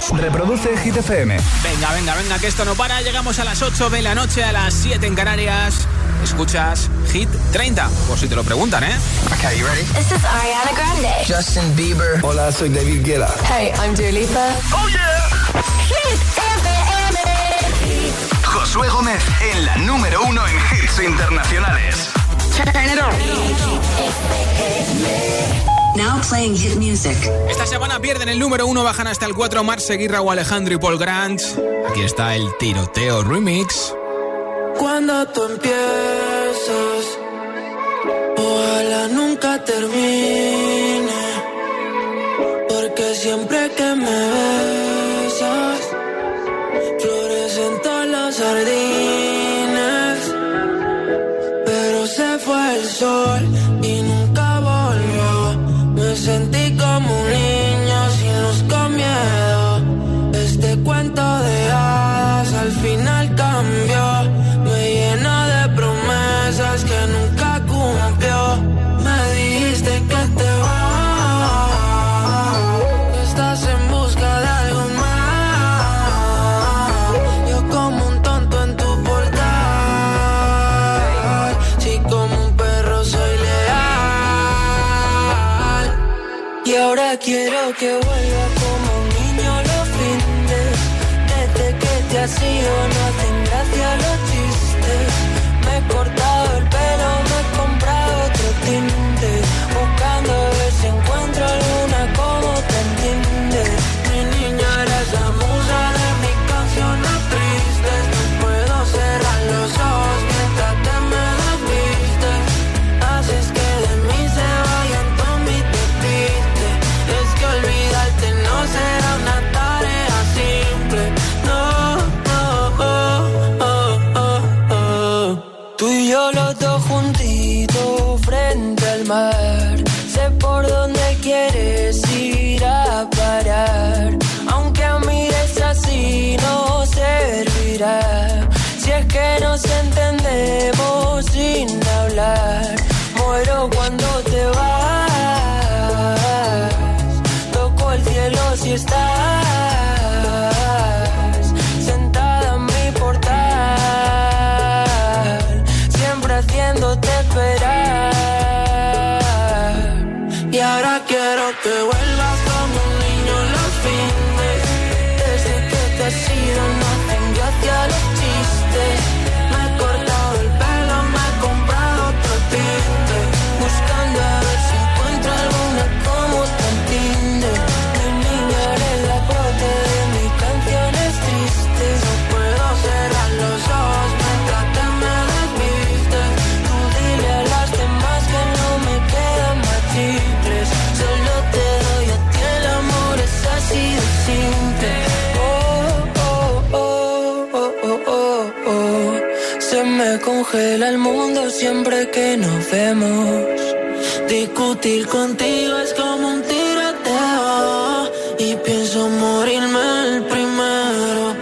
Reproduce Hit FM. Venga, que esto no para. Llegamos a las 8 de la noche, a las 7 en Canarias. Escuchas Hit 30, por si te lo preguntan, ¿eh? Okay, you ready? This is Ariana Grande. Justin Bieber. Hola, soy David Guetta. Hey, I'm Dua Lipa. ¡Oh, yeah! Hit FM. Josué Gómez en la número 1 en hits internacionales. Turn it on. Now playing hit music. Esta semana pierden el número 1, bajan hasta el 4 Marc Seguirra o Alejandro y Paul Grant. Aquí está el Tiroteo Remix. Cuando tú empiezas, ojalá nunca termine, porque siempre que me besas, florecen todos los jardines, pero se fue el sol y nunca volvió. Me sentí como un niño sin luz, con miedo. Este cuento de hadas al final cambió. Me llena de promesas que nunca cumplió. Me dijiste que te vas, que estás en busca de algo más. Yo como un tonto en tu portal. Si como un perro soy leal. Y ahora quiero que vuelva como un niño los fines. Desde que te has ido no hacen gracia los chistes. Me he cortado el pelo, me he comprado otro tinte, buscando a ver si encuentro alguna como te entiende. Mi niña, eres la musa de mis canciones tristes. No puedo cerrar los ojos mientras te me desvistes. Haces que de mí se vayan todos mis despistes. Es que olvidarte no será una tarea simple. No, tú y yo los dos juntitos frente al mar. Sé por dónde quieres ir a parar. Aunque mires así no servirá. Si es que nos entendemos sin hablar. Muero cuando te vas. Toco el cielo si estás sentada en mi portal, siempre haciéndote esperar. Y ahora quiero que vuelvas como un niño los fines. Desde que te has ido no hacen gracia los chistes. Me he cortado el pelo, me he comprado otro tinte, buscando a ver si encuentro alguna como te entiende. Mi niña, eres la prote de mis canciones tristes. No puedo cerrar los ojos mientras te me desvistes. Tú dile a las demás que no me quedan más chicles. Solo te doy a ti, el amor es así de simple. Se me congela el mundo siempre que nos vemos. Discutir contigo es como un tiroteo y pienso morirme el primero.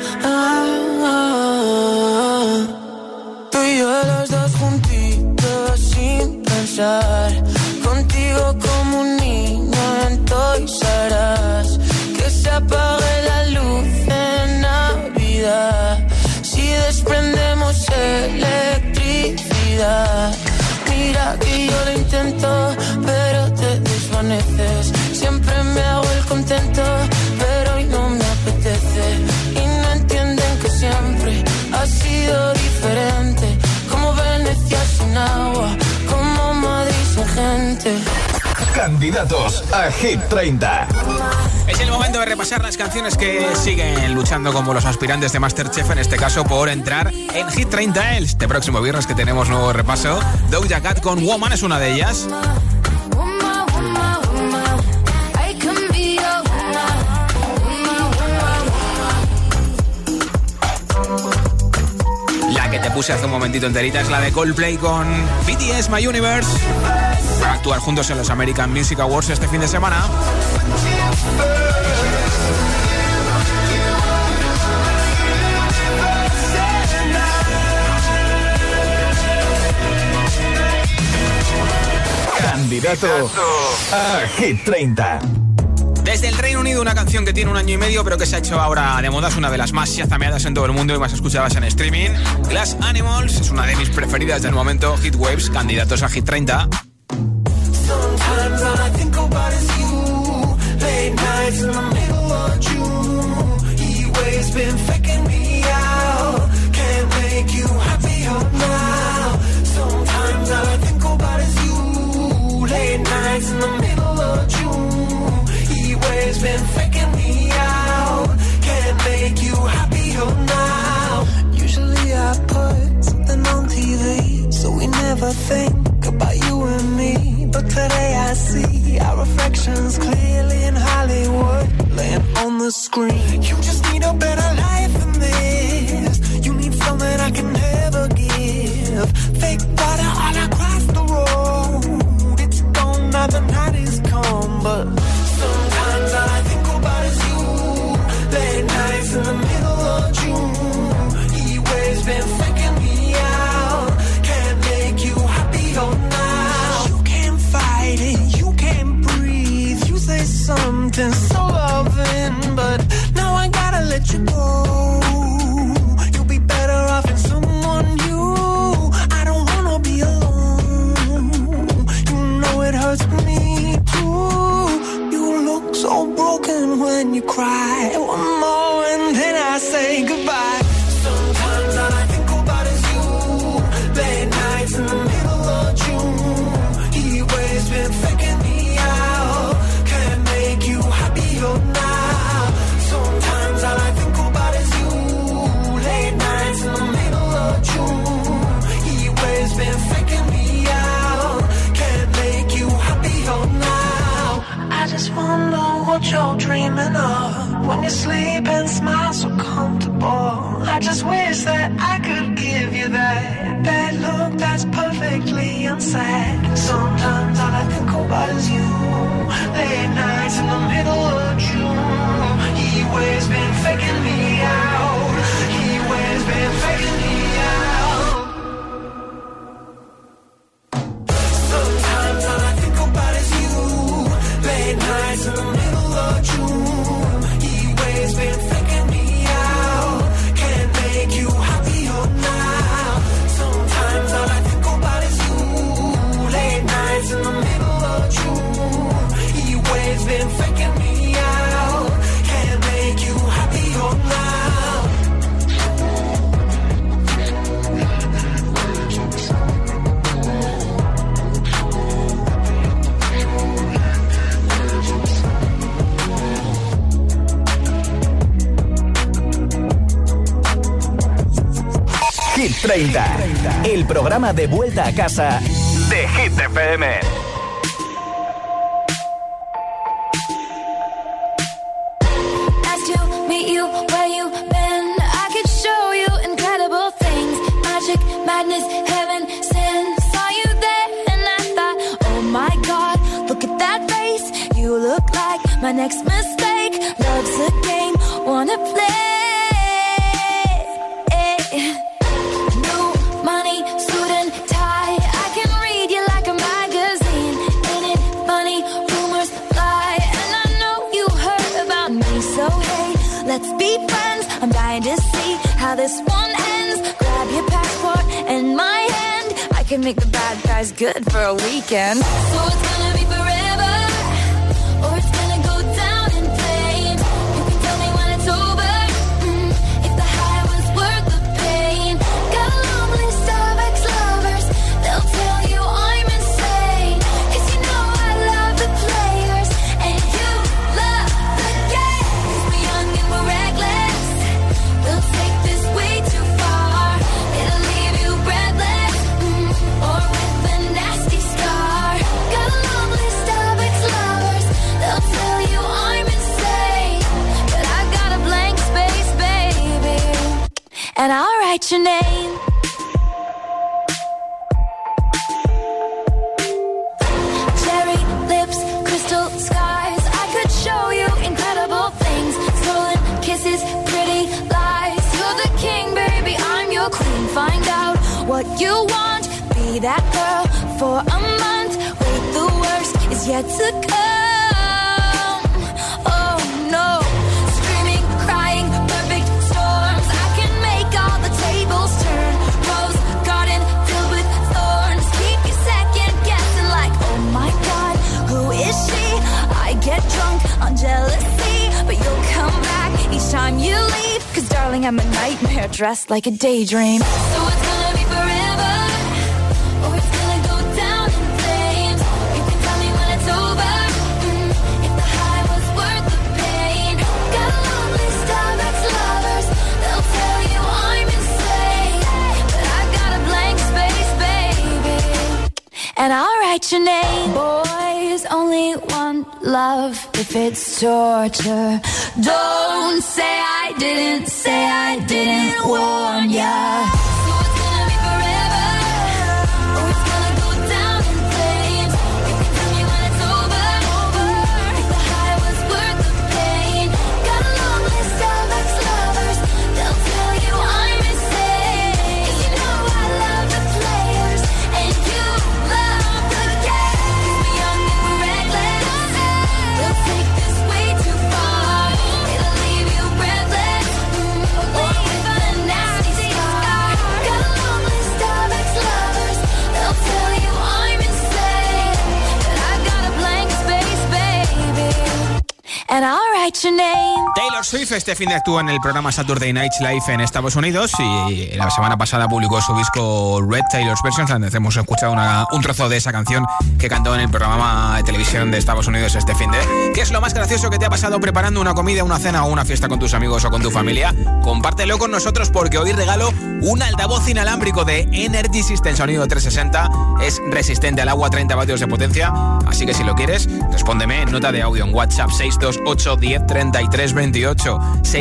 Tú y yo los dos juntitos sin pensar. Contigo como un niño en Toys R Us. Que se apague la luz en Navidad. Si desprendemos electricidad. Mira que yo lo intento, pero te desvaneces. Siempre me hago el contento, pero hoy no me apetece. Y no entienden que siempre ha sido diferente. Como Venecia sin agua, como Madrid sin gente. Candidatos a Hit 30. Es el momento de repasar las canciones que siguen luchando como los aspirantes de MasterChef, en este caso por entrar en Hit 30 este próximo viernes, que tenemos nuevo repaso. Doja Cat con Woman es una de ellas. La que te puse hace un momentito enterita es la de Coldplay con BTS My Universe. Van a actuar juntos en los American Music Awards este fin de semana. Candidato a Hit 30. Desde el Reino Reino Unido, una canción que tiene 1 año y medio, pero que se ha hecho ahora de moda. Es una de las más chazameadas en todo el mundo y más escuchadas en streaming. Glass Animals es una de mis preferidas del momento. Hit Waves, candidatos a Hit 30. Sometimes all I think about is you. Late nights in the middle of June. He waves been faking me out. Can't make you happier now. Sometimes all I think about is you. Late nights in the middle of June. He waves been faking me out. Can't make you happier now. Usually I put something on TV, so we never think about you and me. But today I see our reflections clearly in Hollywood, laying on the screen. You just need a better life than this. You need something I can never give. Fake water all across the road. It's gone now, the night is come. But sometimes all I think about is you. Late nights in the middle of June. He waves been faking me out. Can't make you happier now. You can't fight it, you can't breathe. You say something so loving, but now I gotta let you go. You'll be better off in someone new. I don't wanna be alone. You know it hurts me too. You look so broken when you cry. One more and then I say goodbye. Sometimes all I think about is you. Late nights in the middle of June. He waves been faking me out. Can't make you happier now. Sometimes all I think about is you. Late nights in the middle of June. He waves been faking me out. Can't make you happier now. I just wonder what you're dreaming of when you sleep and smile so comfortable. I just wish that I could give you that look that's perfectly unsaid. Sometimes all I think about is you. Late nights in the middle of June. He waves been faking me out. He waves been faking me out. Sometimes all I think about is you. Late nights in the middle of June. He waves been faking me out. Can't make you happier now. Sometimes all I think about is you. Late nights in the middle of June. He waves been faking me out. Can't make you happier now. Hit 30, el programa de vuelta a casa de Hit FM. Nice to meet you where you been. I could show you incredible things. Magic, madness, heaven, sin. Saw you there and I thought, oh my God, look at that face. You look like my next mistake. Love's a game, wanna play. Let's be friends, I'm dying to see how this one ends. Grab your passport and my hand. I can make the bad guys good for a weekend. So it's gonna be forever, or it's gonna go down in flames. You can tell me when it's over, if the high was worth the pain. Got a long list of ex-lovers, they'll tell you I'm insane. 'Cause you know I love the players, and you love the game. 'Cause we're young and we're reckless, we'll take this way too far. It'll leave you breathless, or with a nasty scar. Got a long list of ex-lovers, they'll tell you I'm insane. But I got a blank space, baby, and I'll write your name. Cherry lips, crystal skies. I could show you incredible things. Stolen kisses, pretty lies. You're the king, baby, I'm your queen. Find out what you want. Be that girl for a month. Wait, the worst is yet to come. Oh darling, I'm a nightmare dressed like a daydream. So it's gonna be forever, or it's gonna go down in flames. You can tell me when it's over, if the high was worth the pain. Got a long list of ex-lovers, they'll tell you I'm insane, but I've got a blank space, baby, and I'll write your name. Boys only want love if it's torture. Don't say I didn't warn ya. So it's gonna be forever, or it's gonna go down in flames. You can tell me when it's over, if the high was worth the pain. Got a long list of ex-lovers, they'll tell you I'm insane. 'Cause you know I love the players, and you love the game. 'Cause we're young and we're reckless, we'll take this way too far. It'll leave you breathless, or with a nasty scar. Got a long list of ex-lovers, they'll tell you I'm insane, but I've got a blank space, baby, and I'll write your name. Taylor Swift este fin de actúa en el programa Saturday Night Live en Estados Unidos y la semana pasada publicó su disco Red Taylor's Versions, donde hemos escuchado un trozo de esa canción que cantó en el programa de televisión de Estados Unidos este fin de. ¿Qué es lo más gracioso que te ha pasado preparando una comida, una cena o una fiesta con tus amigos o con tu familia? Compártelo con nosotros porque hoy regalo un altavoz inalámbrico de Energy System sonido 360. Es resistente al agua, 30 vatios de potencia, así que si lo quieres, respóndeme en nota de audio en WhatsApp 628 10 33 28.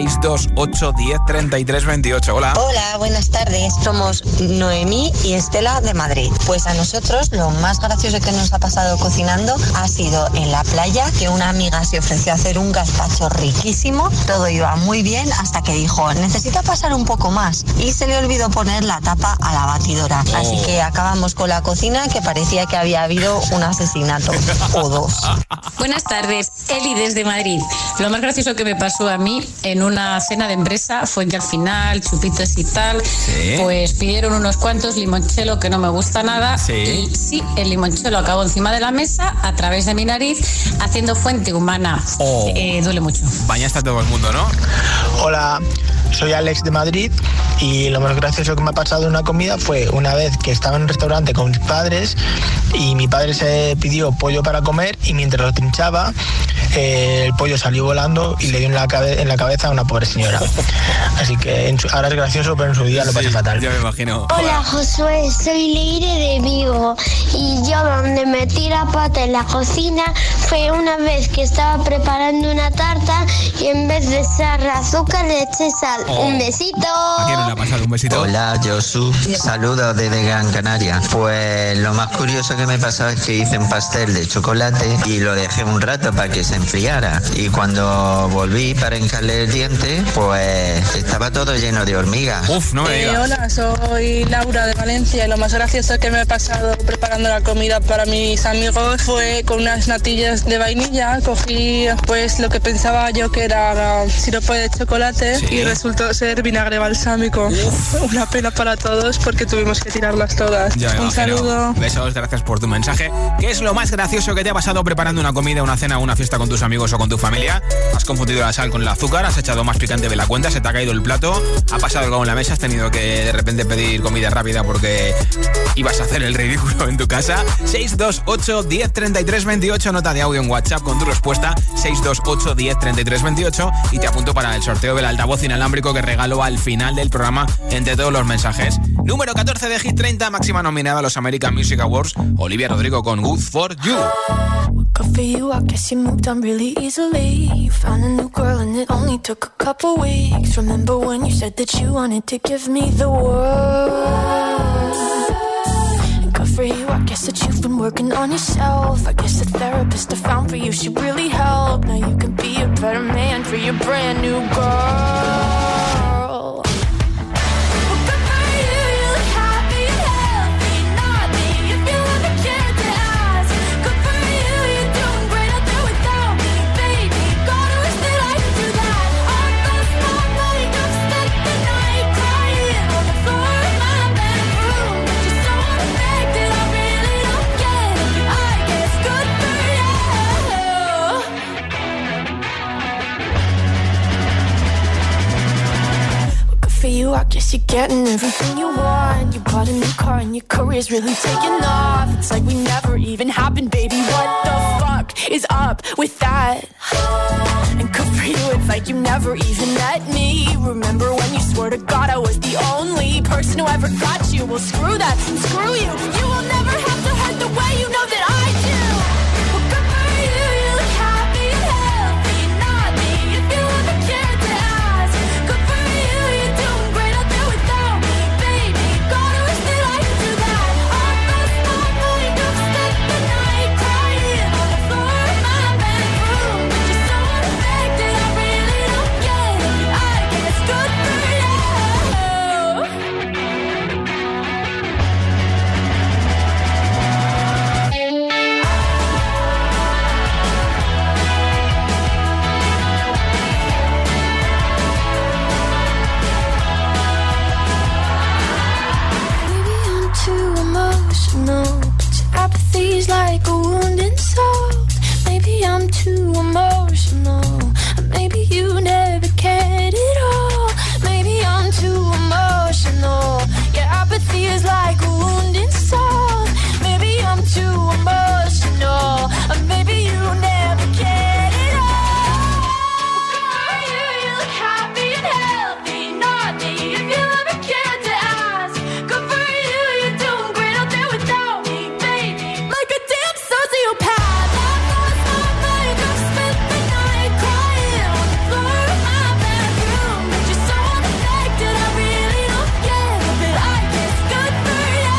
628 10 33 28. Hola. Hola, buenas tardes. Somos Noemí y Estela de Madrid. Pues a nosotros lo más gracioso que nos ha pasado cocinando ha sido en la playa, que una amiga se ofreció a hacer un gazpacho riquísimo. Todo iba muy bien hasta que dijo, necesita pasar un poco más, y se le olvidó poner la tapa a la batidora. Así que acabamos con la cocina que parecía que había habido un asesinato o dos. Buenas tardes, Eli desde Madrid. Lo más gracioso que me pasó a mí en una cena de empresa fue que al final, chupitos y tal, ¿sí? Pues pidieron unos cuantos limonchelo que no me gusta nada. ¿Sí? Y sí, el limonchelo acabó encima de la mesa, a través de mi nariz, haciendo fuente humana. Duele mucho. Bañaste a todo el mundo, ¿no? Hola, soy Alex de Madrid y lo más gracioso que me ha pasado en una comida fue una vez que estaba en un restaurante con mis padres y mi padre se pidió pollo para comer y mientras lo trinchaba el pollo salió volando y le dio en la cabeza a una pobre señora. Así que ahora es gracioso, pero en su día lo pasé fatal. Yo me imagino. Hola Josué, soy Leire de Vigo y yo donde metí la pata en la cocina fue una vez que estaba preparando una tarta y en vez de echar azúcar le eché sal. Un besito. ¿A quién no le ha pasado un besito? Hola Josu, saludos desde Gran Canaria. Pues lo más curioso que me pasó es que hice un pastel de chocolate y lo dejé un rato para que se enfriara, y cuando volví para hincarle el diente pues estaba todo lleno de hormigas. Uf, no me digas. Hola, soy Laura de Valencia y lo más gracioso que me ha pasado preparando la comida para mis amigos fue con unas natillas de vainilla. Cogí pues lo que pensaba yo que era sirope de chocolate, ¿sí? Y resultó ser vinagre balsámico. Uf. Una pena para todos porque tuvimos que tirarlas todas. Un saludo. Besos, gracias por tu mensaje. ¿Qué es lo más gracioso que te ha pasado preparando una comida, una cena o una fiesta con tus amigos o con tu familia? ¿Has confundido la sal con el azúcar? ¿Has echado más picante de la cuenta? ¿Se te ha caído el plato? ¿Ha pasado algo en la mesa? ¿Has tenido que de repente pedir comida rápida porque ibas a hacer el ridículo en tu casa? 628 10 33 28, nota de audio en WhatsApp con tu respuesta. 628 10 33 28 y te apunto para el sorteo del altavoz inalámbrico que regalo al final del programa entre todos los mensajes. Número 14 de Hit 30, máxima nominada a los American Music Awards, Olivia Rodrigo con Good For You. Good for you, I guess you moved on really easily. You found a new girl and it only took a couple weeks. Remember when you said that you wanted to give me the world? Good for you, I guess that you've been working on yourself. I guess the therapist I found for you should really help. Now you can be a better man for your brand new girl. you, I guess you're getting everything you want. You bought a new car and your career's really taking off. It's like we never even happened, baby. What the fuck is up with that? And good for you, it's like you never even met me. Remember when you swore to God I was the only person who ever got you? Well, screw that and screw you. You will never have to hurt the way you know that I do. Well, good for you, you look happy and healthy. Not me, if you ever cared to ask. Good for you, you're doing great out there without me, baby. Gotta wish that I could do that. I lost my mind, I've spent the night crying on the floor of my bedroom. But you're so unaffected, I really don't get it. I guess good for you. Too emotional, but your apathy's like a wounded soul. Maybe I'm too emotional, or maybe you never cared at all. Maybe I'm too emotional, your apathy is like a wounded soul. Maybe I'm too emotional, or maybe you never cared at all. You look happy and healthy, not me, if you ever cared to ask. Good for you, you're doing great out there without me, baby. Like a damn sociopath, I've lost my mind, I've spent the night crying on the floor of my bedroom. But you're so unaffected, I really don't get it, but I guess good for you.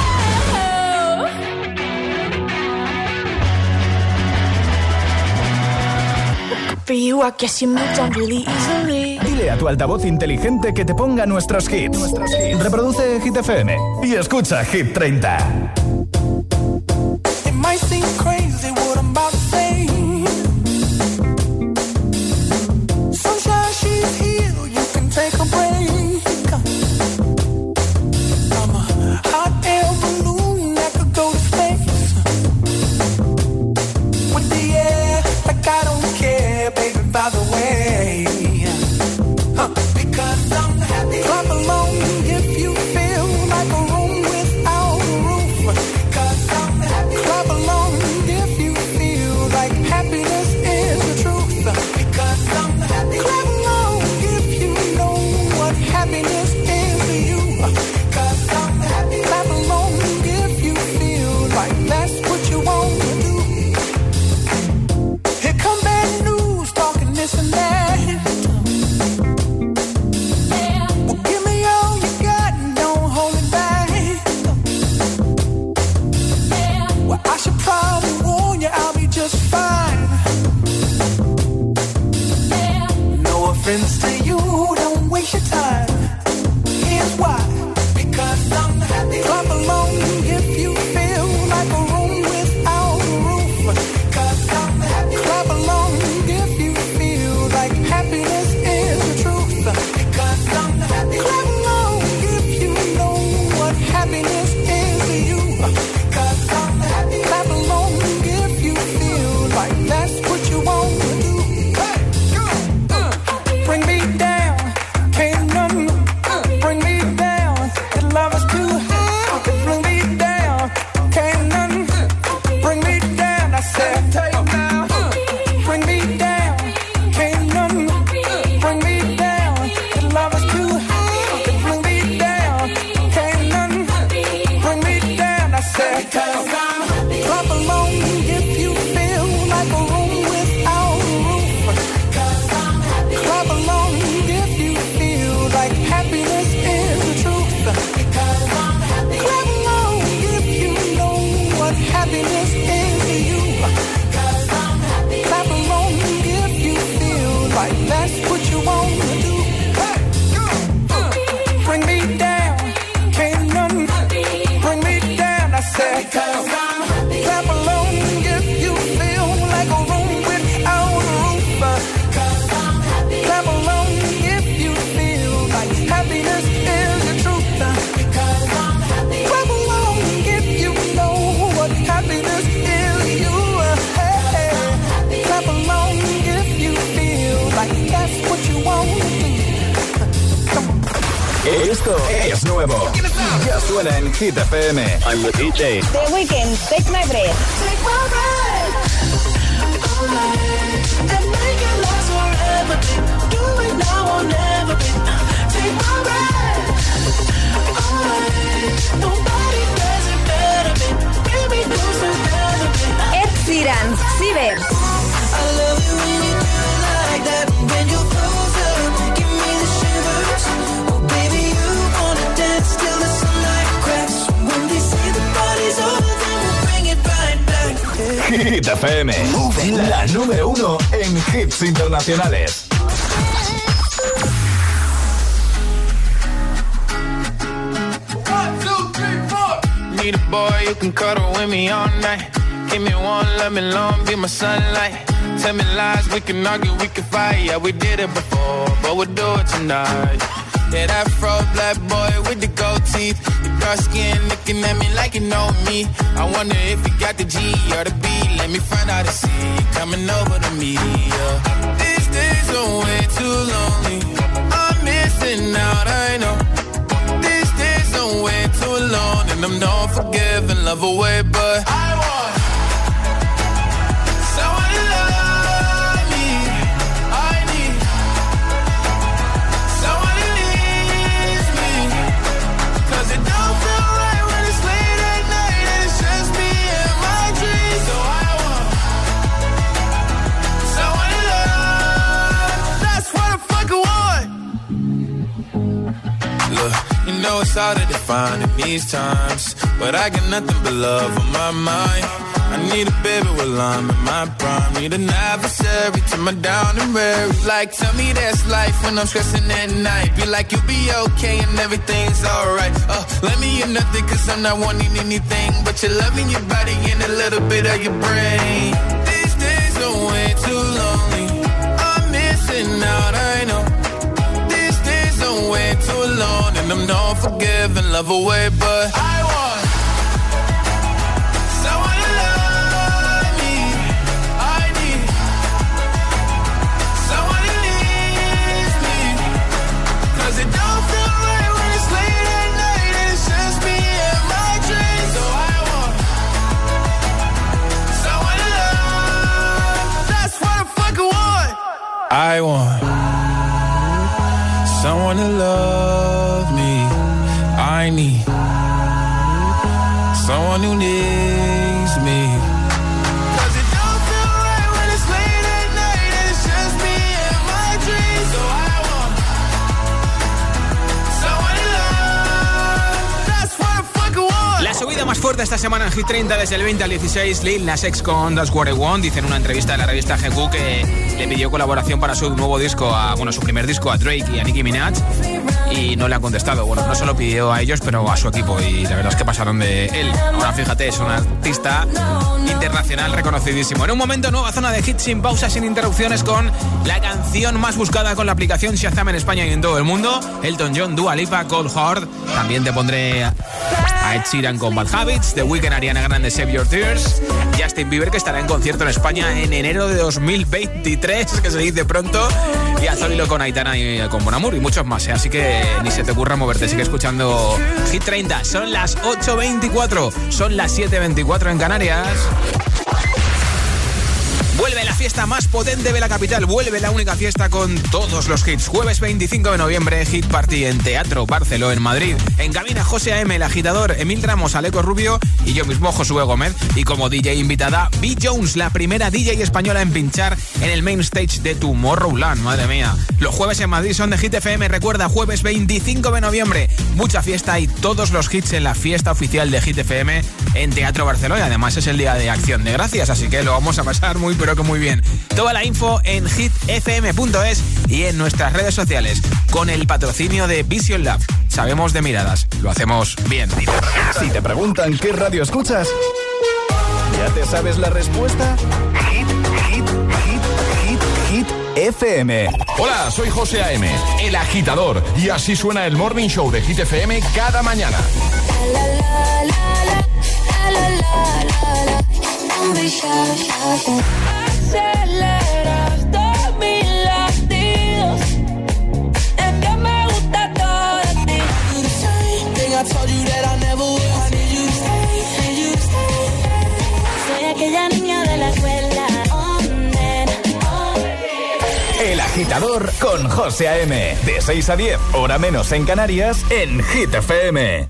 Good for you, I guess you moved on really easily. Dile a tu altavoz inteligente que te ponga nuestros hits. Reproduce Hit FM y escucha Hit 30. It might seem crazy what I'm about to say. Sunshine, she's here, you can take a break. I'm a hot air balloon that could go to space. With the air, like I don't care, baby, by the way. Because I'm happy. Clap along if you feel like a room without a roof. 'Cause I'm happy. Clap along if you feel like happiness is the truth. Because I'm happy. Clap along if you know what happiness is to you. 'Cause I'm happy. Clap along if you feel like that's what you want to do. Here come bad news, talking this and that. I should probably warn you, I'll be just fine. No offense to you, don't waste your time. Here's why. Because I'm happy. Clap along if you feel like a room without a roof. 'Cause I'm happy. Clap along if you feel like happiness is the truth. Because I'm happy. Clap along if you know what happiness is to you. 'Cause I'm happy. Clap along if you feel like that's what you want to do. Hey, bring me down, can't none bring me down. Your love is too high. Bring me down, can't none bring me down. I said, take now. Bring me down, can't none bring me down. Your love is too high. Bring me down, can't none bring me down. I said, clap along if you feel like a room without a roof. Clap along if you feel like happiness is the truth. Clap along if you know what happiness is to you. Clap along if you feel like that's what you want to do. Bring me down, can't none bring me down. I said, clap along if you feel like a room without a roof. Clap along if you feel like happiness disco es nuevo. Ya suena en Hit FM. I'm the DJ. The Weeknd, Take My Breath. Take my breath and make it last forever. Do it now or never. Take my breath away. Nobody does it better. Bring me closer together. Ed Sheeran, Ciber. I love it when you do it like that. When you're closer, give me the shivers. Oh baby, you wanna dance till the sunlight cracks. When they say the party's over, then we'll bring it right back. Hit FM, la número 1 en hits internacionales. Need a boy you can cuddle with me all night. Give me one, let me long, be my sunlight. Tell me lies, we can argue, we can fight. Yeah, we did it before, but we'll do it tonight. Yeah, that fro black boy with the gold teeth. The dark skin looking at me like you know me. I wonder if you got the G or the B. Let me find out and see you coming over to me. Yeah. These days are way too lonely. I'm missing out, I know. These days are way too alone. And I'm not forgiving, love away, but I want someone to love me. I need someone who needs me. 'Cause it don't feel right when it's late at night and it's just me and my dreams. So I want someone to love. That's what the fuck I want. Look, you know it's hard to define in these times, but I got nothing but love on my mind. I need a baby while I'm in my prime. Need an adversary to my down and weary. Like, tell me that's life when I'm stressing at night. Be like, you'll be okay and everything's alright. Let me hear nothing 'cause I'm not wanting anything but your love in your body and a little bit of your brain. These days are way too lonely. I'm missing out, I know. These days are way too alone. And I'm not forgiving, love away, but I want someone to love me. I need someone who needs me. 'Cause it don't feel right when it's late at night and it's just me and my dreams. So I want someone to love. That's what the fuck I want. I want someone to love me. I need someone who needs me. 'Cause it don't feel right when it's late at night and it's just me and my dreams. So I want someone to love. That's what the fuck I want. La subida más fuerte esta semana en Hit 30 desde el 20 al 16, Lil Nas X con That's What I Want. Dice en una entrevista de la revista GQ que le pidió colaboración para su nuevo disco, su primer disco a Drake y a Nicki Minaj, y no le han contestado. Bueno, no se lo pidió a ellos, pero a su equipo, y la verdad es que pasaron de él. Ahora fíjate, es un artista internacional reconocidísimo. En un momento, nueva zona de hits sin pausas, sin interrupciones, con la canción más buscada con la aplicación Shazam en España y en todo el mundo. Elton John, Dua Lipa, Cold Heart. También te pondré a Ed Sheeran con Bad Habits, The Weeknd, Ariana Grande, Save Your Tears, Justin Bieber, que estará en concierto en España en enero de 2023, que se dice pronto, y a Zoilo con Aitana y con Bon Amour y muchos más, ¿eh? Así que ni se te ocurra moverte, sigue escuchando Hit 30. Son las 8:24, son las 7:24 en Canarias. Vuelve la fiesta más potente de la capital, vuelve la única fiesta con todos los hits. Jueves 25 de noviembre, Hit Party en Teatro Barceló, en Madrid. En cabina, José A.M., El Agitador, Emil Ramos, Aleco Rubio y yo mismo, Josué Gómez. Y como DJ invitada, B. Jones, la primera DJ española en pinchar en el main stage de Tomorrowland. Madre mía. Los jueves en Madrid son de Hit FM. Recuerda, jueves 25 de noviembre, mucha fiesta y todos los hits en la fiesta oficial de Hit FM en Teatro Barceló. Y además es el día de Acción de Gracias, así que lo vamos a pasar muy pero que muy bien. Toda la info en hitfm.es y en nuestras redes sociales, con el patrocinio de Vision Lab. Sabemos de miradas, lo hacemos bien. Si te preguntan qué radio escuchas, ¿ya te sabes la respuesta? Hit FM. Hola, soy José A.M., El Agitador, y así suena el Morning Show de Hit FM cada mañana. Aceleras todos mis latidos. Es que me gusta todo de ti. Agitador con José A.M. De 6 a 10, hora menos en Canarias, en Hit FM.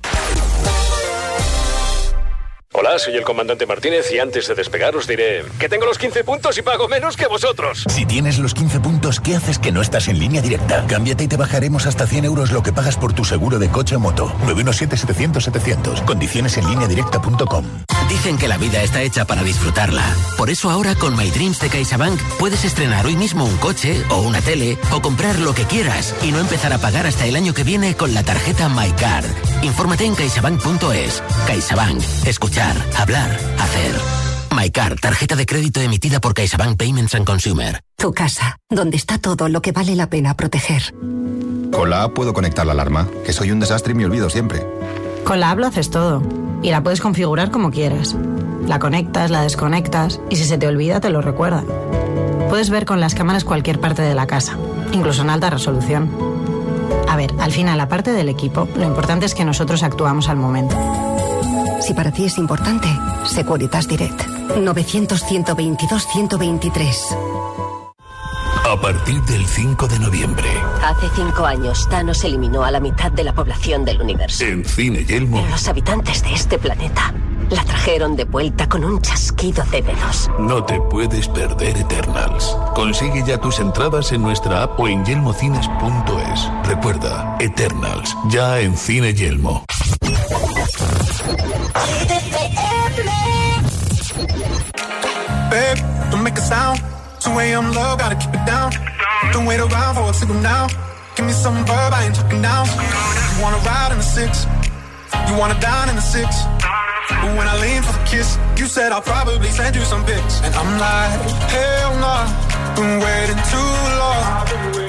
Hola, soy el comandante Martínez y antes de despegar os diré que tengo los 15 puntos y pago menos que vosotros. Si tienes los 15 puntos, ¿qué haces que no estás en Línea Directa? Cámbiate y te bajaremos hasta 100 euros lo que pagas por tu seguro de coche o moto. 917-700-700. Condiciones en lineadirecta.com. Dicen que la vida está hecha para disfrutarla. Por eso ahora con My Dreams de CaixaBank puedes estrenar hoy mismo un coche o una tele o comprar lo que quieras y no empezar a pagar hasta el año que viene con la tarjeta MyCard. Infórmate en caixabank.es. CaixaBank. Escuchar, hablar, hacer. MyCard, tarjeta de crédito emitida por CaixaBank Payments and Consumer. Tu casa, donde está todo lo que vale la pena proteger. Con la app puedo conectar la alarma, que soy un desastre y me olvido siempre. Con la app lo haces todo. Y la puedes configurar como quieras. La conectas, la desconectas y si se te olvida te lo recuerda. Puedes ver con las cámaras cualquier parte de la casa, incluso en alta resolución. A ver, al final, aparte del equipo, lo importante es que nosotros actuamos al momento. Si para ti es importante, Securitas Direct. 900-122-123. A partir del 5 de noviembre. Hace 5 años, Thanos eliminó a la mitad de la población del universo. En Cine Yelmo. Pero los habitantes de este planeta la trajeron de vuelta con un chasquido de dedos. No te puedes perder Eternals. Consigue ya tus entradas en nuestra app o en yelmocines.es. Recuerda, Eternals, ya en Cine Yelmo. Babe, don't make a sound. 2 a.m. love, gotta keep it down. Don't wait around for a signal now. Give me some verb, I ain't talking down. You wanna ride in the 6, you wanna dine in the 6. But when I lean for the kiss, you said I'll probably send you some pics. And I'm like, hell nah, been waiting too long.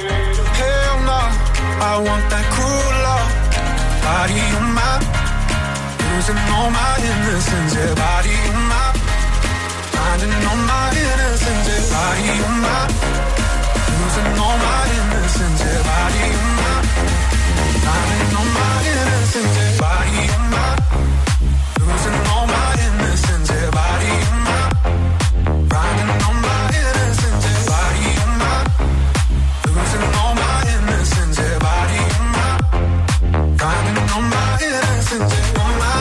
Hell nah, I want that cruel love. Body on my, losing all my innocence. Yeah, body on my, finding all my innocence. Yeah, body on my, losing all my innocence. Yeah, body on my, finding all my innocence. Yeah, body on my, losing all my innocence. Yeah, body on my, finding all my innocence. Yeah, body on my, losing all my innocence. Yeah, body on my, finding all my innocence. Yeah, all my,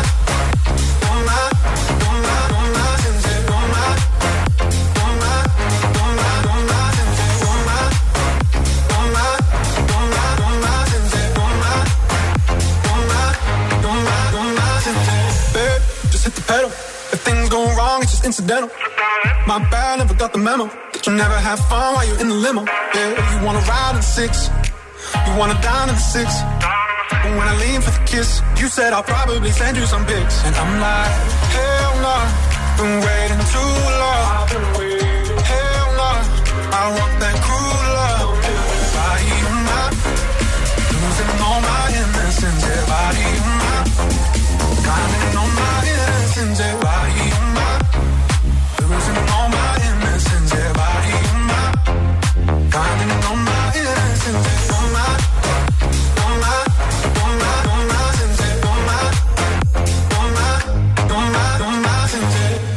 all my, all my, all my sins. Yeah, all my, all my, all my, all my sins. Yeah, all my, all my, all my, all my sins. Yeah, all my, all my, all my, all my sins. Babe, just hit the pedal. If things go wrong, it's just incidental. My bad, never got the memo that you never have fun while you're in the limo. Yeah, you wanna ride in the 6, you wanna dine in the 6. But when I lean for the kiss, you said I'll probably send you some pics. And I'm like, hell nah, been waiting too long. Hell nah, I want that cruel love. Body on my, losing all my innocence. Yeah, body on my, finding all my innocence. Yeah, body on my, losing all my innocence. Yeah, body on my, finding all my innocence. Yeah, all my, all my, all my, all my sins. Yeah, all my, all my, all my, all my sins.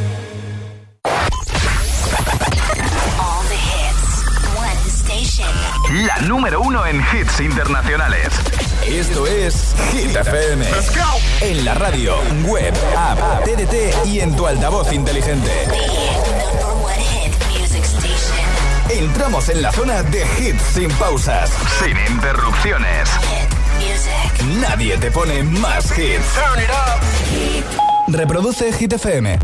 All the hits, one station. La número 1 en hits internacionales. Esto es Hit FM. Let's go. En la radio, web, app, TDT y en tu altavoz inteligente. Entramos en la zona de hits sin pausas, sin interrupciones. Nadie te pone más hits. Turn it up. Reproduce Hit FM.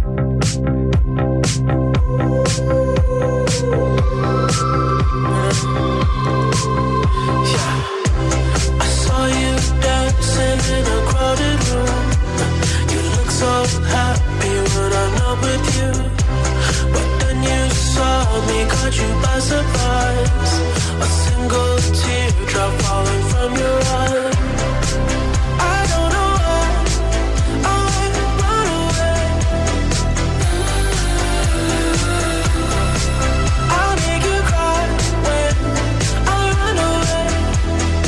I saw you dancing in a crowded room. You look so happy when I'm not with you. But then you saw me, caught you by surprise. A single teardrop falling from your eye. I don't know why I run away. I'll make you cry when I run away.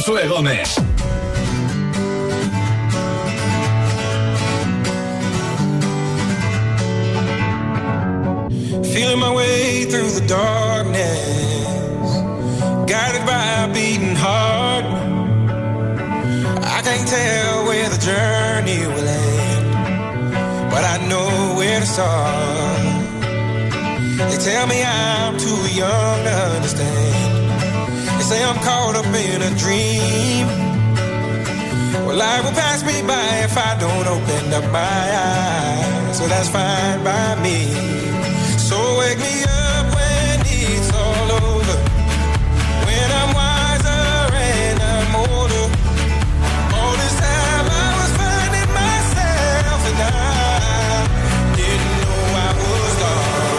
Josué Gómez. Feeling my way through the darkness, guided by a beating heart. I can't tell where the journey will end, but I know where to start. They tell me I'm too young to understand. They say I'm caught up in a dream. Well, life will pass me by if I don't open up my eyes. So that's fine by me. So wake me up when it's all over, when I'm wiser and I'm older. All this time I was finding myself and I didn't know I was lost.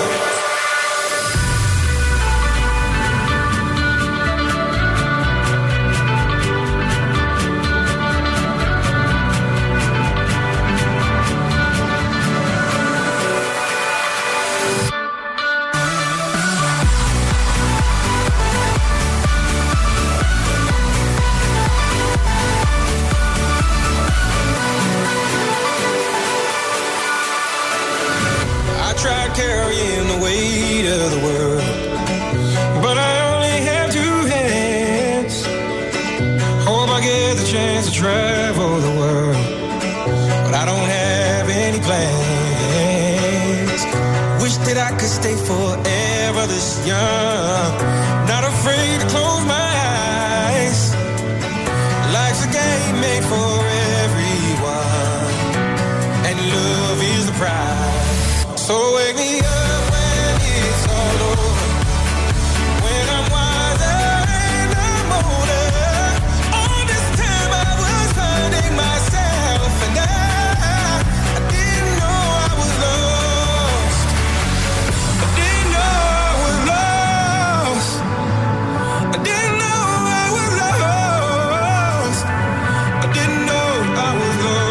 Carrying the weight of the world, but I only have two hands. Hope I get the chance to travel the world, but I don't have any plans. Wish that I could stay forever this young, not afraid to close my eyes. Life's a game made for everyone, and love is the prize. So wake me up when it's all over, when I'm wiser and I'm older. All this time I was finding myself and I didn't know I was lost. I didn't know I was lost. I didn't know I was lost. I didn't know I was lost.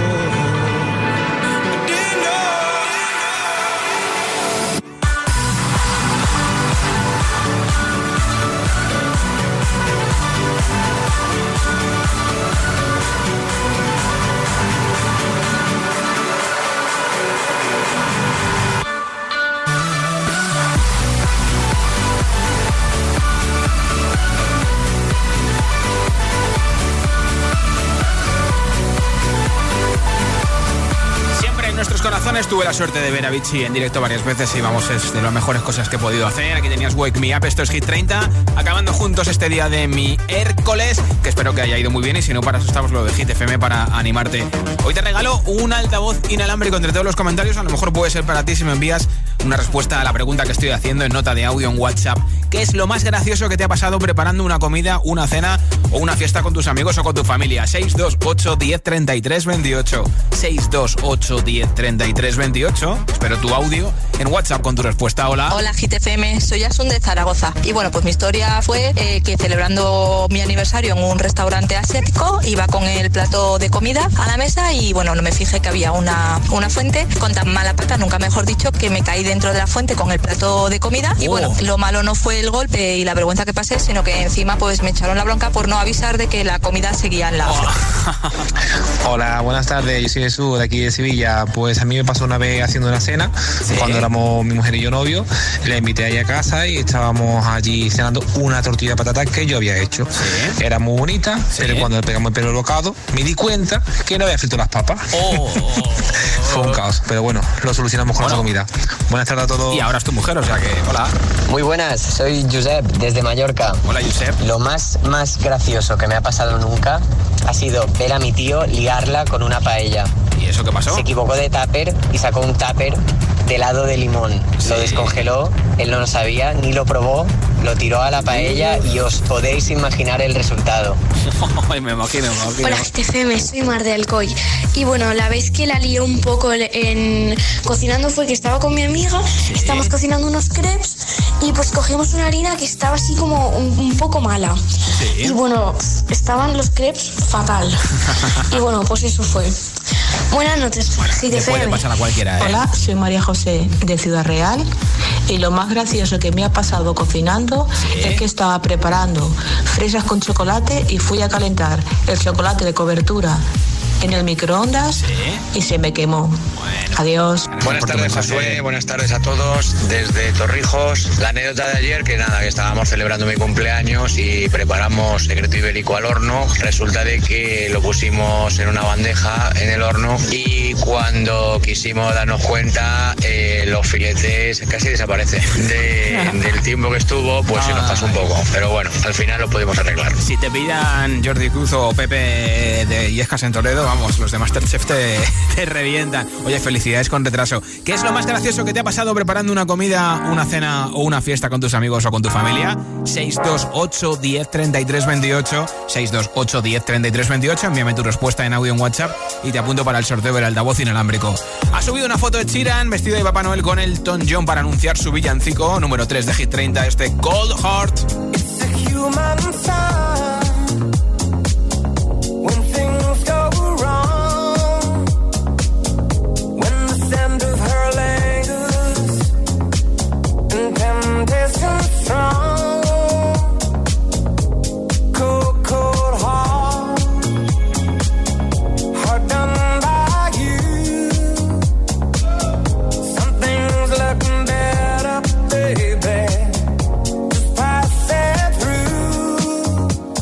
Nuestros corazones, tuve la suerte de ver a Avicii en directo varias veces y vamos, es de las mejores cosas que he podido hacer. Aquí tenías Wake Me Up, esto es Hit 30, acabando juntos este día de mi miércoles, que espero que haya ido muy bien y si no, para eso estamos lo de Hit FM para animarte. Hoy te regalo un altavoz inalámbrico entre todos los comentarios, a lo mejor puede ser para ti si me envías una respuesta a la pregunta que estoy haciendo en nota de audio en WhatsApp. ¿Qué es lo más gracioso que te ha pasado preparando una comida, una cena o una fiesta con tus amigos o con tu familia? 628 10 33 28 628 10 33 28. Espero tu audio en WhatsApp con tu respuesta. Hola. Hola Hit FM, soy Asun de Zaragoza. Y bueno, pues mi historia fue que celebrando mi aniversario en un restaurante asiático, iba con el plato de comida a la mesa y bueno, no me fijé que había una fuente con tan mala pata, nunca mejor dicho, que me caí dentro de la fuente con el plato de comida. Y bueno, lo malo no fue el golpe y la vergüenza que pasé, sino que encima pues me echaron la bronca por no avisar de que la comida seguía en la Hola, buenas tardes, yo soy Jesús de aquí de Sevilla. Pues a mí me pasó una vez haciendo una cena, cuando éramos mi mujer y yo novios, le invité ahí a casa y estábamos allí cenando una tortilla de patatas que yo había hecho. Era muy bonita, pero cuando le pegamos el pelo al bocado me di cuenta que no había frito las papas. Fue un caos, pero bueno, lo solucionamos con la comida. Buenas tardes a todos. Y ahora es tu mujer, o sea que, hola. Muy buenas, soy Josep desde Mallorca. Hola Josep. Lo más gracioso que me ha pasado nunca ha sido ver a mi tío liarla con una paella. ¿Y eso qué pasó? Se equivocó de tupper y sacó un tupper de helado de limón. Lo descongeló, él no lo sabía, ni lo probó, lo tiró a la paella y os podéis imaginar el resultado. me imagino. Hola GTFM, soy Mar de Alcoy. Y bueno, la vez que la lié un poco en cocinando fue que estaba con mi amiga, estábamos cocinando unos crepes y pues cogimos una harina que estaba así como un poco mala. Y bueno, estaban los crepes fatal. Y bueno, pues eso fue. Buenas noches, le puede pasar a cualquiera, ¿eh? Hola, soy María José de Ciudad Real Y lo más gracioso que me ha pasado cocinando es que estaba preparando fresas con chocolate y fui a calentar el chocolate de cobertura en el microondas y se me quemó. Adiós. Buenas tardes, Josué. Buenas tardes a todos desde Torrijos. La anécdota de ayer, que nada, que estábamos celebrando mi cumpleaños y preparamos secreto ibérico al horno. Resulta de que lo pusimos en una bandeja en el horno y cuando quisimos darnos cuenta, los filetes casi desaparecen. Del tiempo que estuvo, pues se nos pasó un poco. Pero bueno, al final lo pudimos arreglar. Si te pillan Jordi Cruz o Pepe de Illescas en Toledo, vamos, los de Masterchef te revientan. Oye, felicidades con retraso. ¿Qué es lo más gracioso que te ha pasado preparando una comida, una cena o una fiesta con tus amigos o con tu familia? 628 10 33 28 628 10 33 28. Envíame tu respuesta en audio en WhatsApp y te apunto para el sorteo del altavoz inalámbrico. Ha subido una foto de Sheeran vestido de Papá Noel con Elton John para anunciar su villancico número 3 de Hit 30, Cold Heart. It's a human sign when things go wrong, when the scent of her lingers and temptation strong. Cold, cold heart, heart done by you. Something's looking better, baby. Just pass it through.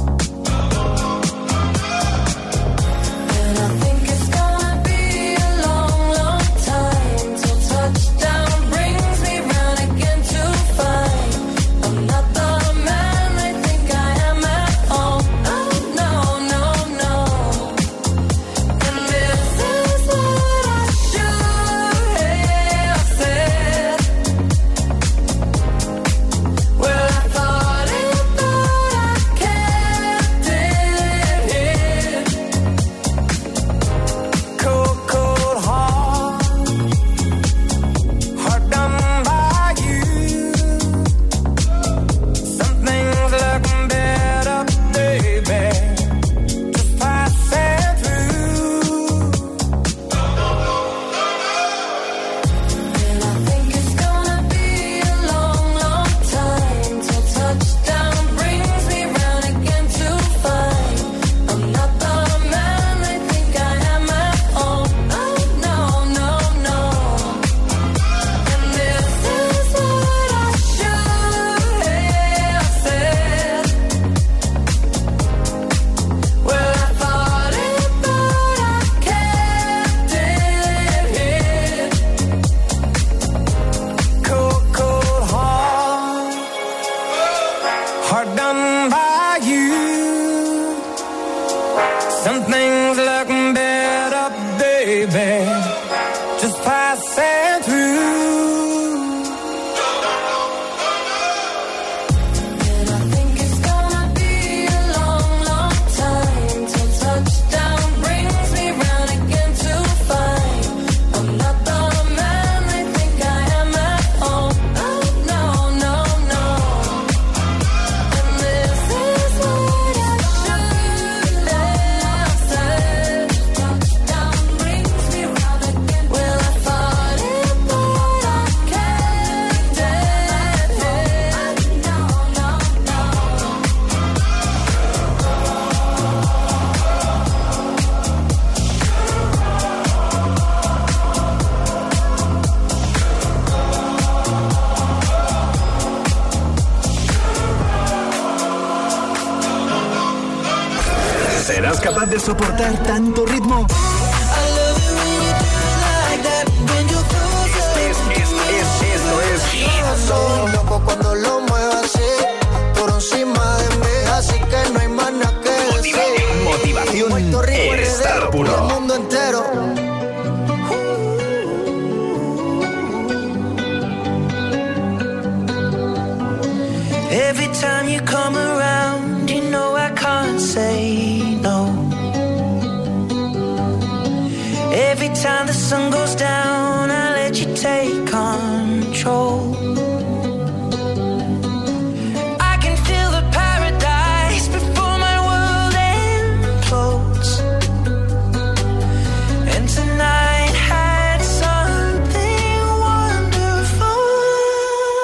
And I think it's gonna be a long, long time till touchdown brings me round again to find I'm not the man I think I am at home. Oh no, no, no. And this is what I should have said. Well, I thought it, but I kept it hid. Cold, cold heart, heart done by you. Something's looking better, baby. Just pass it through. And I think it's gonna be a long, long time till touchdown brings me round again to find I'm not the man I think I am at home. Oh no, no, no. And this is what I should have said. Well, I thought it, but I kept it hid. Cold, cold heart, heart done by you. Something's looking better, baby. Just pass it through. And I think it's gonna be a long, long time till touchdown brings me round again to find I'm not the man I think I am at home. Oh no, no, no. And this is what I should have said. Touchdown brings me round again. Well, I thought it, but I kept it hid. No, no, no. ¿Serás capaz de soportar tanto ritmo? Esto es Soy loco cuando lo muevo así, por encima de mí, así que no hay más nada que decir. motivación Puerto Rico, en estado el puro. mundo entero. Every time you come around, you know I can't say no. Every time the sun goes down, I let you take control. I can feel the paradise before my world implodes. And tonight had something wonderful.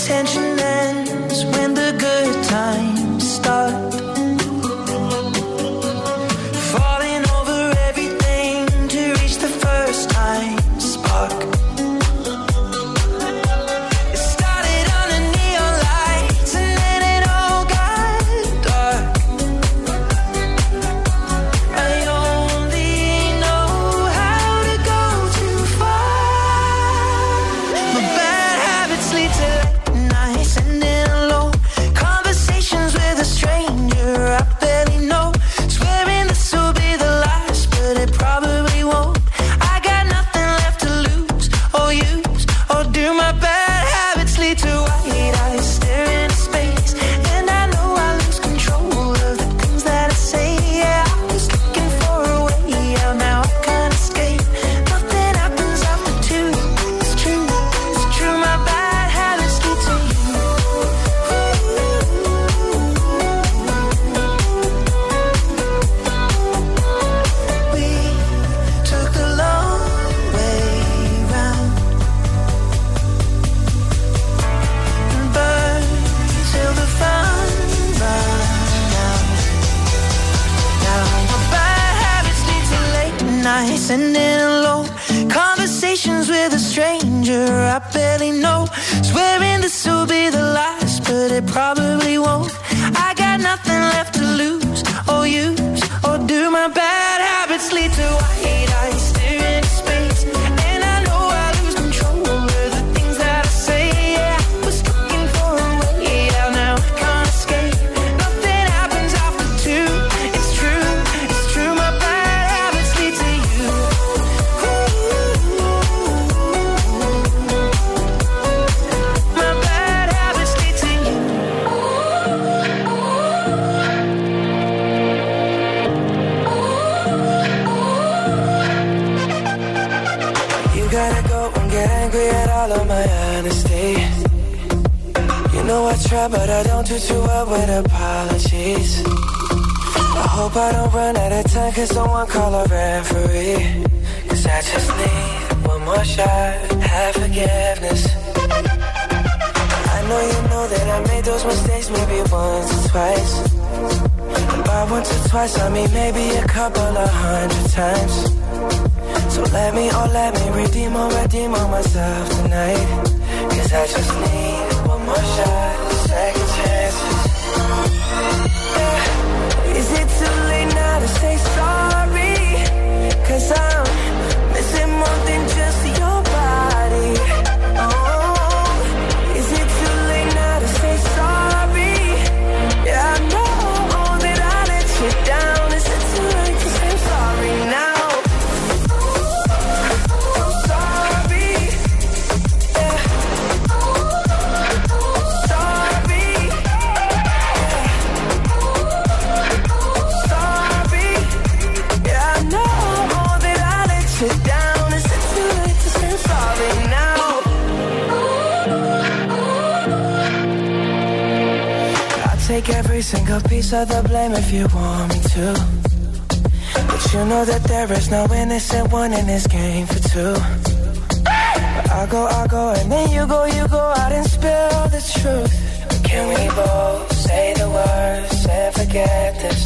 tension ends, when the good times start. Falling over everything to reach the first time spark. It started under neon lights and then it all got dark. I only know how to go too far. My bad habits lead to late nights and then alone conversations with a stranger I barely know. Swearing this will be the last, but it probably won't. I got nothing left to lose or use or do. My bad habits lead to white eyes staring into space, and I know I lose control of the things that I say. Yeah, I was looking for a way out, now I can't escape. Nothing happens after two. It's true, it's true. My bad habits lead to you. We took the long way round and burned till the fun ran out. Now my bad habits lead to late nights and then alone conversations with a stranger I barely know. Swearing this will be the last, but it probably won't. I got nothing left to lose or use or do. My bad habits lead to white eyes staring into space, and I know I lose control of the things that I say. Yeah, I was looking for a way out, now I can't escape. Nothing happens after two. It's true, it's true. My bad habits lead to you. My bad habits lead to you. You gotta go and get angry at all of my honesty. You know I try, but I don't do too well with apologies. I hope I don't run out of time, cause someone call a referee. Cause I just need one more shot, have forgiveness. I know you know that I made those mistakes maybe once or twice. And by once or twice I mean maybe a couple of 100 times. So let me redeem on myself tonight. Cause I just need one more shot, second chances. Yeah. Is it too late now to say sorry? Cause I'm missing more than just your body. Oh, is it too late now to say sorry? Yeah, I know that I let you down. Is it too late to say sorry now? Take every single piece of the blame if you want me to. But you know that there is no innocent one in this game for two. But I go, and then you go out and spill the truth. But can we both say the words and forget this?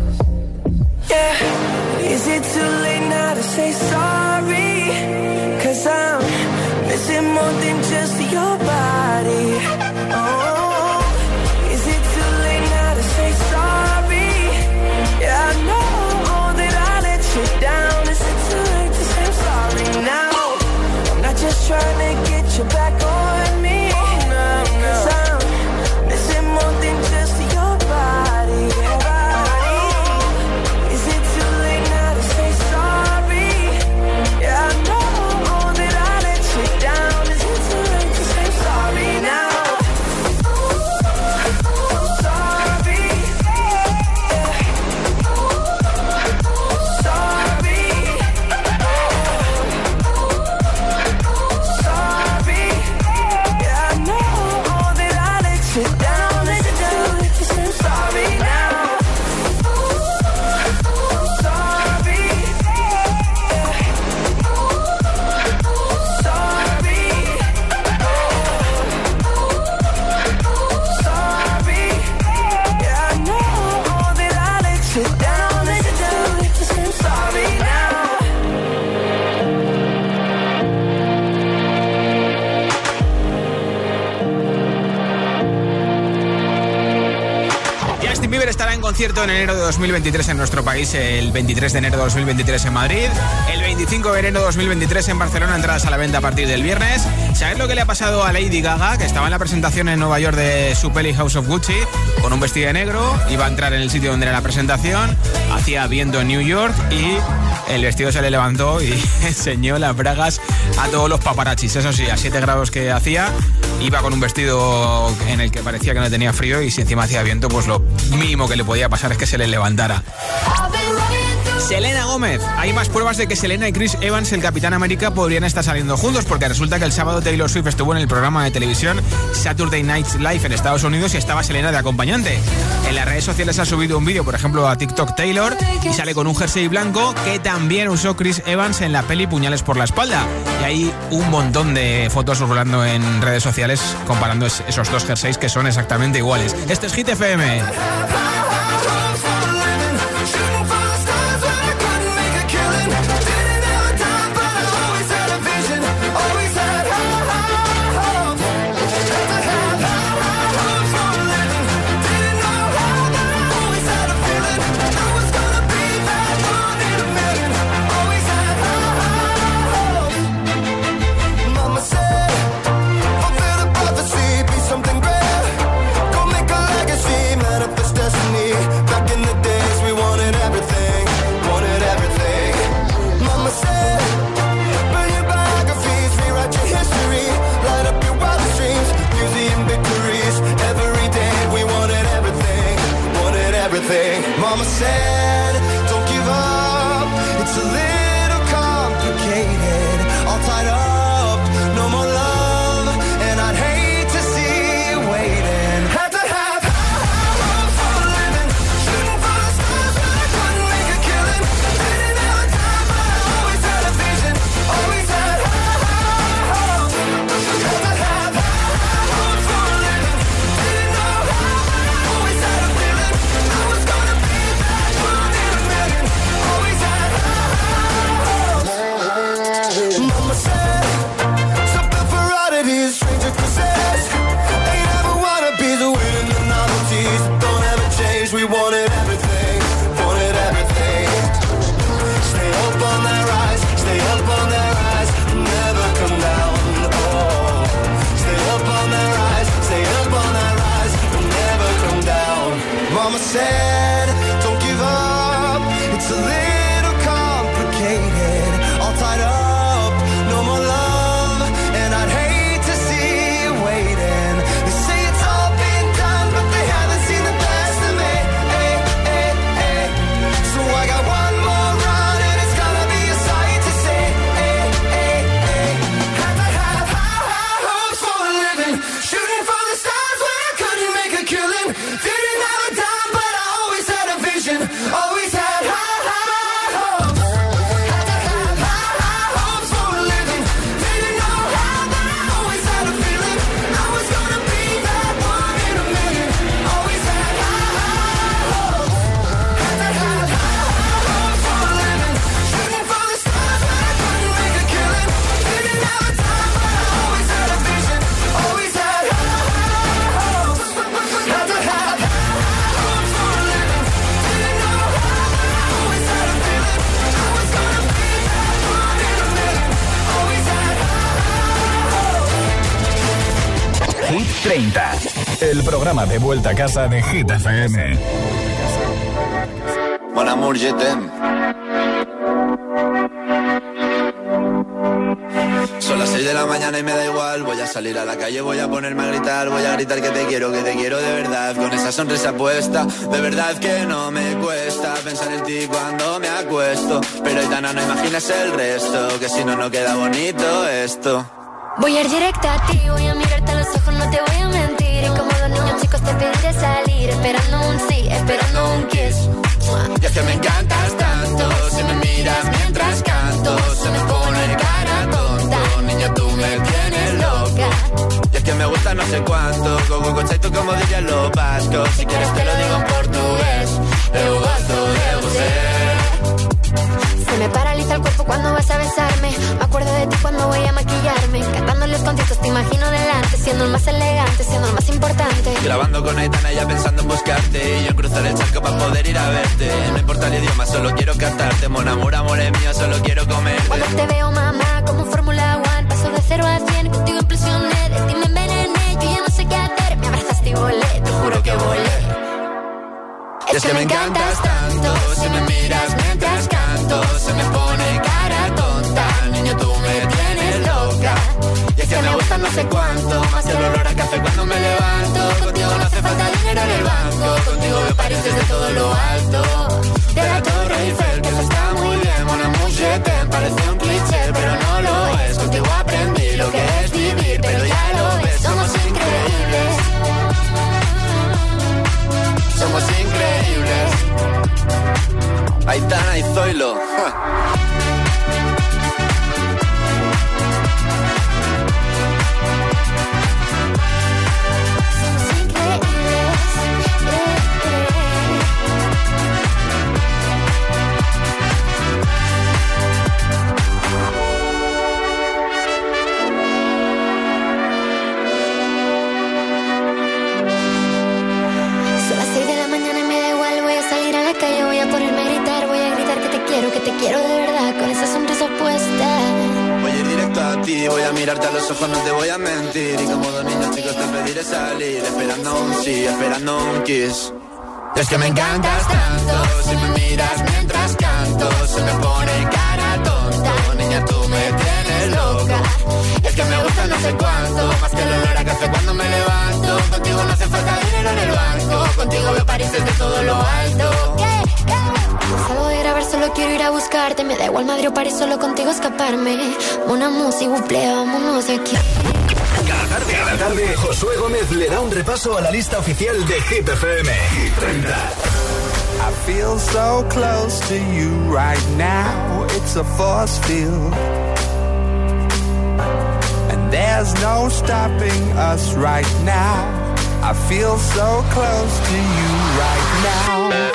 Yeah. Is it too late now to say sorry? Cause I'm missing more than just your body. Oh, sorry, yeah, I know that I let you down. Is it too late to say sorry now? I'm not just trying to get you back on me. No. Cause I'm missing more than just your body. Is it too late now to say sorry? concierto en enero de 2023 en nuestro país, el 23 de enero de 2023 en Madrid, el 25 de enero de 2023 en Barcelona, entradas a la venta a partir del viernes. ¿Sabes lo que le ha pasado a Lady Gaga? Que estaba en la presentación en Nueva York de su peli House of Gucci, con un vestido de negro, iba a entrar en el sitio donde era la presentación, hacía viento en New York y el vestido se le levantó y enseñó las bragas a todos los paparachis. Eso sí, a 7 grados que hacía, iba con un vestido en el que parecía que no tenía frío, y si encima hacía viento, pues lo mínimo que le podía pasar es que se le levantara. Selena Gómez. Hay más pruebas de que Selena y Chris Evans, el Capitán América, podrían estar saliendo juntos, porque resulta que el sábado Taylor Swift estuvo en el programa de televisión Saturday Night Live en Estados Unidos y estaba Selena de acompañante. En las redes sociales ha subido un vídeo, por ejemplo, a TikTok Taylor, y sale con un jersey blanco que también usó Chris Evans en la peli Puñales por la espalda. Y hay un montón de fotos rolando en redes sociales comparando esos dos jerseys que son exactamente iguales. Este es Hit FM. Mama said, don't give up, it's a little complicated, all tied up, no more love, and I'd hate to see you waiting. Had to have hopes for a living, shooting for the stars, but I couldn't make a killing. Didn't have a time, but I always had a vision, always had hopes. Had to have hopes for a living, didn't know how, but I always had a feeling I was gonna be that one in a million. Always had hopes. Mama said, something for oddities, stranger kisses. Ain't ever wanna be the winning the novelties. Don't ever change, we wanted everything, wanted everything. Stay up on that rise, stay up on that rise, never come down. Oh, stay up on that rise, stay up on that rise, never come down. Mama said, don't give up, it's a little complicated, all tied up, no more love, and I'd hate to see you waiting. They say it's all been done, but they haven't seen the best of me. Hey, hey, hey. So I got one more run, and it's gonna be a sight to see. Hey, hey, hey. Had to have high hopes for a living, shooting for the stars when I couldn't make a killing. Didn't have a dime, but I always had a vision, always had high hopes. Had to have high hopes for a living, didn't know how, but I always had a feeling I was gonna be that one in a million. Always had high hopes. Had to have high hopes for a living, shooting for the stars when I couldn't make a killing. Didn't have a time, but I always had a vision, always had high hopes. Had to have high hopes for a living, didn't know how, but I always had a feeling I was gonna be that one in a million. Always had Hit 30, el programa de vuelta a casa de Hit FM. Mon amour, je t'aime. Son las 6 de la mañana y me da igual. Voy a salir a la calle, voy a ponerme a gritar. Voy a gritar que te quiero de verdad. Con esa sonrisa puesta, de verdad que no me cuesta pensar en ti cuando me acuesto. Pero Aitana, no imaginas el resto, que si no, no queda bonito esto. Voy a ir directa a ti, voy a mirarte a los ojos, no te voy a mentir. Y como los niños chicos te pediré salir, esperando un sí, esperando un kiss. Y es que me encantas tanto, si me miras mientras canto, se me pone cara tonta. Niña, tú me tienes loca. Y es que me gusta no sé cuánto, go conceito como dirían los vascos. Si quieres te lo digo en portugués, eu gosto de você. Se me paraliza el cuerpo cuando vas a besarme. Me acuerdo de ti cuando voy a maquillarme. Cantando los conciertos te imagino delante, siendo el más elegante, siendo el más importante. Grabando con Aitana ya pensando en buscarte, y yo en cruzar el charco para poder ir a verte. No importa el idioma, solo quiero cantarte. Mon amour, amor es mío, solo quiero comerte. Cuando te veo, mamá, como Fórmula 1, paso de 0 a 100, contigo impresioné, de ti me envenené, yo ya no sé qué hacer, me abrazaste y volé, te juro que volé. Es que me encantas tanto, si me miras mientras canto, se me pone cara tonta, niño tú me tienes loca. Y es que me gusta no sé cuánto, más que el olor a café cuando me levanto. Contigo no hace falta dinero en el banco, contigo me París desde todo lo alto. De la Torre Eiffel, que eso está muy bien, mon amour, je t'aime, parece un cliché, pero no lo es. Contigo aprendí lo que es vivir, pero ya lo ves, somos increíbles. Somos increíbles. Aitana y Zoilo. Que te quiero de verdad, con esa sonrisa puesta. Voy a ir directo a ti, voy a mirarte a los ojos, no te voy a mentir. Y como dos niños chicos te pediré salir, esperando un sí, esperando un kiss. Es que me encantas tanto, si me miras mientras canto, se me pone cara tonta, niña tú me tienes loca. Es que me gusta no sé cuánto, más que el olor a café cuando me levanto. Contigo no hace falta dinero en el banco, contigo veo París desde todo lo alto. Salgo de grabar, solo quiero ir a buscarte. Me da igual Madrid o París, solo contigo escaparme. Una música, vámonos de aquí. Cada tarde, Josué Gómez le da un repaso a la lista oficial de Hit FM. Hit 30. I feel so close to you right now. It's a force field. And there's no stopping us right now. I feel so close to you right now.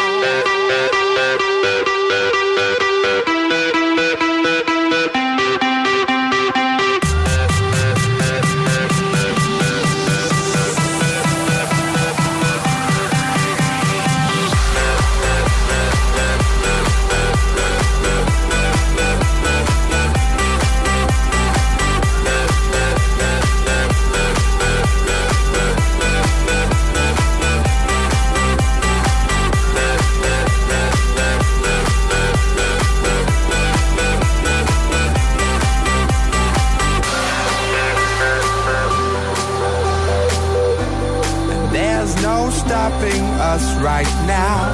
Stopping us right now.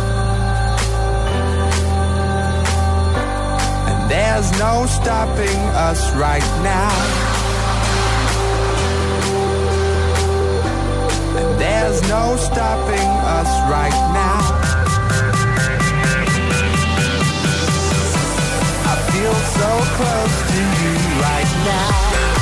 And there's no stopping us right now. And there's no stopping us right now. I feel so close to you right now.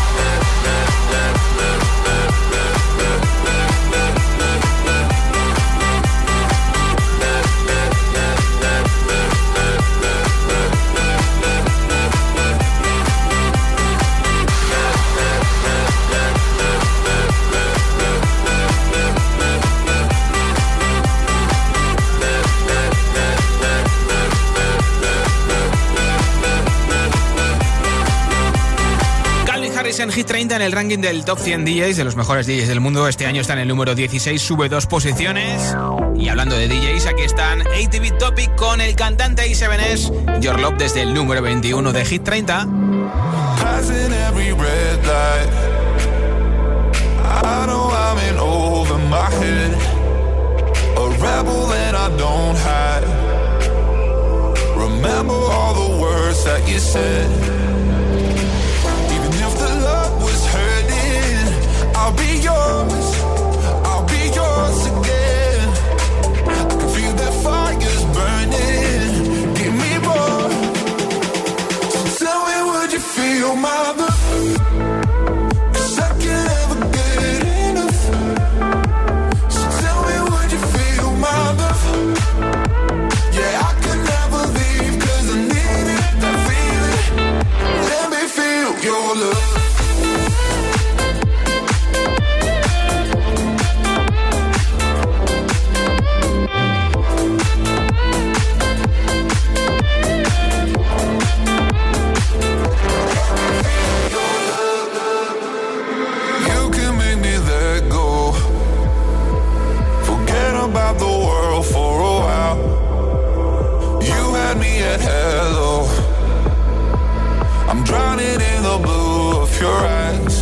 En Hit 30 en el ranking del Top 100 DJs, de los mejores DJs del mundo. Este año está en el número 16, sube 2 posiciones. Y hablando de DJs, aquí están ATV Topic con el cantante A7S, Your Love, desde el número 21 de Hit 30. Remember all the words that you said. I'll be yours, I'll be yours again. I can feel that fire's burning. Give me more. So tell me, would you feel my love? 'Cause I can't ever get enough. So tell me, would you feel my love? Yeah, I can never leave 'cause I need it, that feeling. Let me feel your love. your eyes.